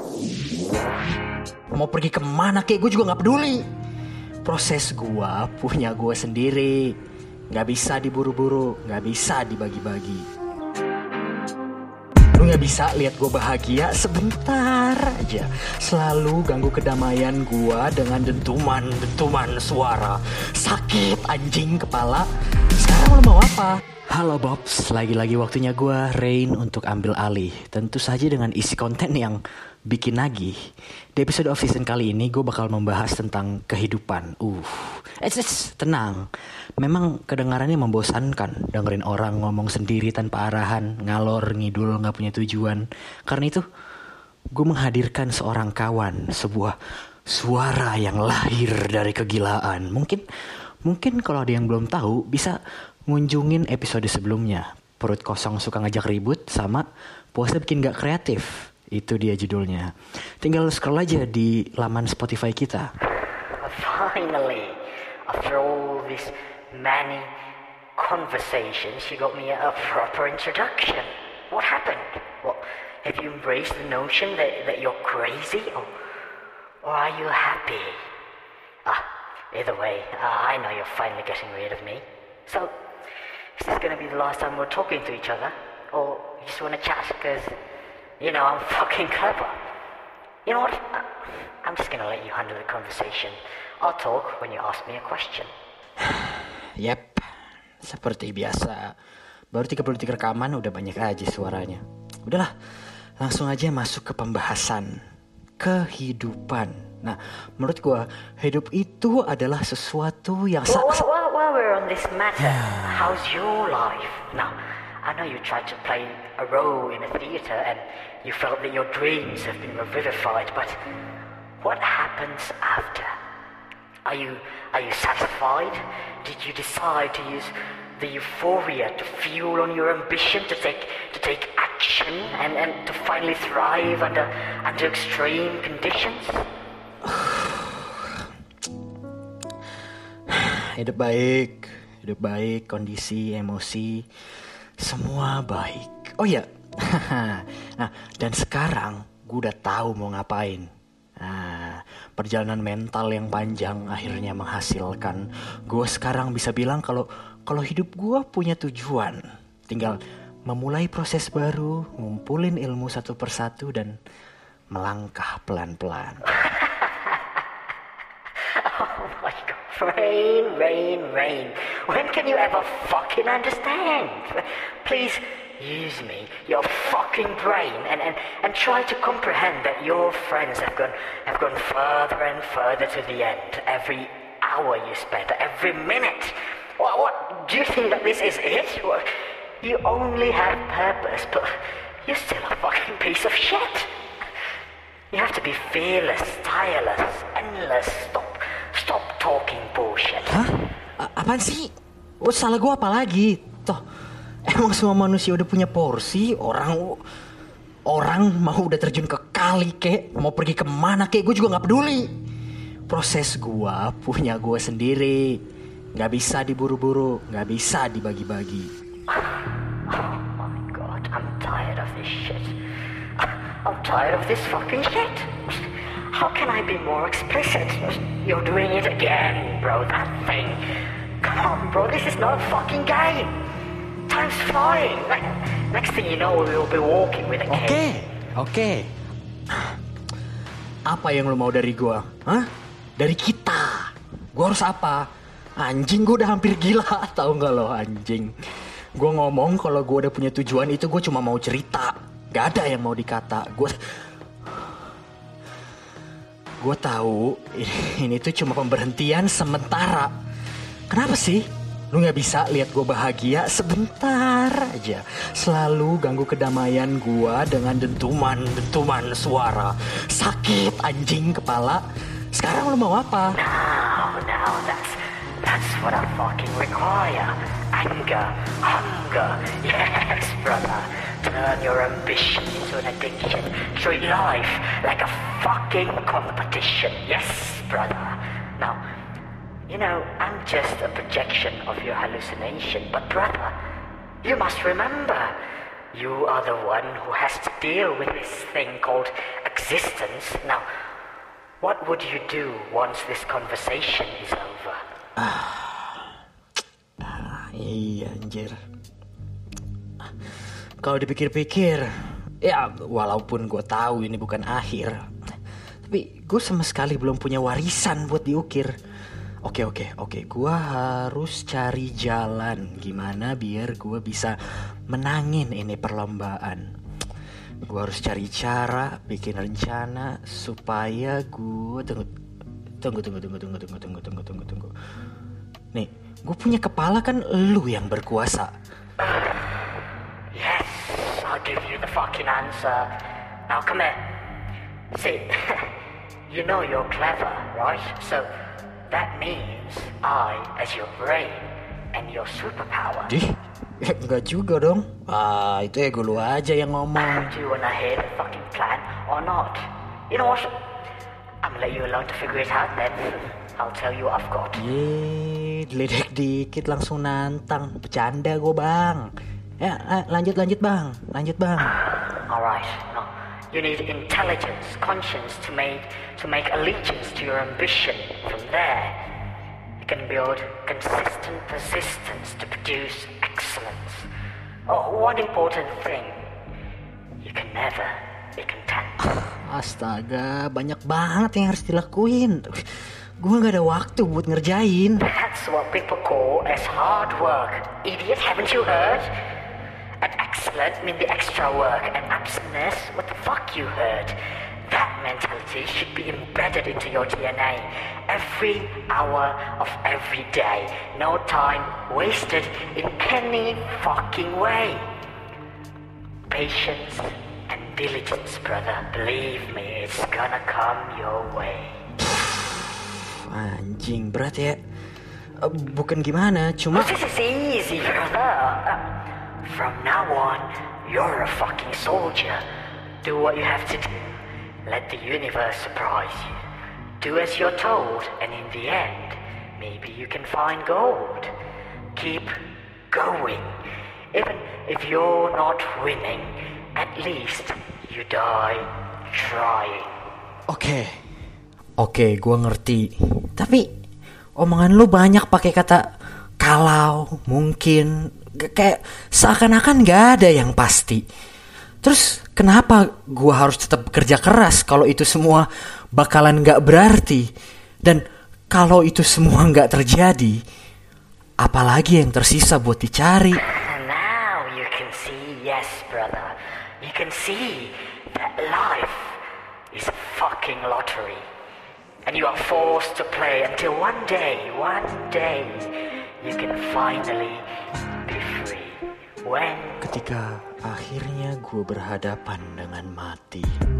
Mau pergi kemana kek gue juga gak peduli. Proses gue punya gue sendiri. Gak bisa diburu-buru, gak bisa dibagi-bagi. Lu gak bisa lihat gue bahagia sebentar aja. Selalu ganggu kedamaian gue dengan dentuman suara. Sakit anjing kepala. Sekarang lu mau apa? Halo Bobs, lagi-lagi waktunya gue Rain untuk ambil alih. Tentu saja dengan isi konten yang bikin nagih. Di episode off season kali ini gue bakal membahas tentang kehidupan. Tenang. Memang kedengarannya membosankan dengerin orang ngomong sendiri tanpa arahan, ngalor ngidul gak punya tujuan. Karena itu gue menghadirkan seorang kawan, sebuah suara yang lahir dari kegilaan. Mungkin kalau ada yang belum tahu bisa ngunjungin episode sebelumnya. Perut kosong suka ngajak ribut sama puasa bikin gak kreatif. Itu dia judulnya. Tinggal scroll aja di laman Spotify kita. Finally, after all this many conversations, you got me a proper introduction. What happened? What, have you embraced the notion that you're crazy? Or are you happy? Either way, I know you're finally getting rid of me. So, is this going to be the last time we're talking to each other? Or you just want to chat because, you know, I'm fucking clever? You know what? I'm just going to let you handle the conversation. I'll talk when you ask me a question. Yep, seperti biasa. Baru 30 detik rekaman udah banyak aja suaranya. Udahlah, langsung aja masuk ke pembahasan kehidupan. Nah, menurut gue hidup itu adalah sesuatu yang While we're on this matter, how's your life? Now, I know you tried to play a role in a theater and you felt that your dreams have been revivified, but what happens after? Are you satisfied? Did you decide to use the euphoria to fuel on your ambition to take action and to finally thrive under extreme conditions? Hidup baik, kondisi, emosi, semua baik. Oh ya, nah dan sekarang gue udah tahu mau ngapain. Nah, perjalanan mental yang panjang akhirnya menghasilkan gue sekarang bisa bilang kalau hidup gue punya tujuan. Tinggal memulai proses baru, ngumpulin ilmu satu persatu dan melangkah pelan-pelan. Oh my God. Rain. When can you ever fucking understand? Please use me, your fucking brain, and try to comprehend that your friends have gone further and further to the end. Every hour you spend, every minute. What? Do you think that this is it? What? You only have purpose, but you're still a fucking piece of shit. You have to be fearless, tireless, endless. Stop talking bullshit. Hah? Apaan sih? Salah gue apa lagi? Toh, emang semua manusia udah punya porsi. Orang mau udah terjun ke kali kek, mau pergi kemana kek, gue juga gak peduli. Proses gue punya gue sendiri. Gak bisa diburu-buru, gak bisa dibagi-bagi. Oh my God, I'm tired of this shit. I'm tired of this fucking shit. How can I be more explicit? You're doing it again, bro, that thing. Come on, bro, this is not a fucking game. Time's flying. Next thing you know, we'll be walking with a cane. Oke. Apa yang lo mau dari gua? Hah? Dari kita. Gua harus apa? Anjing, gua udah hampir gila. Tahu gak lo, anjing? Gua ngomong kalau gua udah punya tujuan itu gua cuma mau cerita. Gak ada yang mau dikata. Gue tahu ini tuh cuma pemberhentian sementara. Kenapa sih? Lu gak bisa lihat gue bahagia sebentar aja. Selalu ganggu kedamaian gue dengan dentuman suara. Sakit anjing kepala. Sekarang lu mau apa? Now, that's what I fucking require. Anger, hunger, yes, brother. Turn your ambition into an addiction. Treat life like a fucking competition. Yes, brother. Now, you know, I'm just a projection of your hallucination. But brother, you must remember, you are the one who has to deal with this thing called existence. Now, what would you do once this conversation is over? Iya anjir. Kalau dipikir-pikir, ya walaupun gue tahu ini bukan akhir, tapi gue sama sekali belum punya warisan buat diukir. Oke, gue harus cari jalan gimana biar gue bisa menangin ini perlombaan. Gue harus cari cara, bikin rencana supaya gue tunggu. Nih, gue punya kepala kan, lu yang berkuasa. Yes, I'll give you the fucking answer. Now come here. See, you know you're clever, right? So that means I, as your brain and your superpower. Enggak juga dong. Itu ego lu aja yang ngomong. Do you wanna hear the fucking plan or not? You know what? I'm gonna let you alone to figure it out then. I'll tell you what I've got. Diledek dikit langsung nantang. Bercanda gue bang. Ya, lanjut bang. Alright, no. You need intelligence, conscience to make allegiance to your ambition. From there, you can build consistent persistence to produce excellence. Oh, one important thing. You can never be content. Astaga, banyak banget yang harus dilakuin. Gue gak ada waktu buat ngerjain. That's what people call as hard work. Idiot, haven't you heard? And excellent mean the extra work, and absentness, what the fuck you heard? That mentality should be embedded into your DNA every hour of every day. No time wasted in any fucking way. Patience and diligence, brother. Believe me, it's gonna come your way. Anjing, berat ya. Bukan gimana, cuma... This is easy, brother. From now on, you're a fucking soldier. Do what you have to do. Let the universe surprise you. Do as you're told, and in the end, maybe you can find gold. Keep going. Even if you're not winning, at least you die trying. Oke, gue ngerti. Tapi omongan lu banyak pakai kata kalau, mungkin, kayak seakan-akan gak ada yang pasti. Terus kenapa gue harus tetap bekerja keras kalau itu semua bakalan gak berarti? Dan kalau itu semua gak terjadi, apalagi yang tersisa buat dicari? Now you can see, yes brother, you can see that life is a fucking lottery. And you are forced to play until one day, you can finally be free. When? Ketika akhirnya gue berhadapan dengan mati.